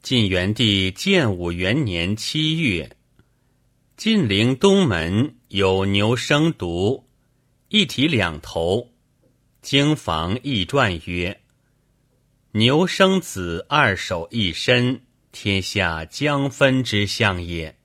晋元帝建武元年7月，晋陵东门有牛生犊，一体两头。经房议传曰：牛生子，二手一身，天下将分之象也。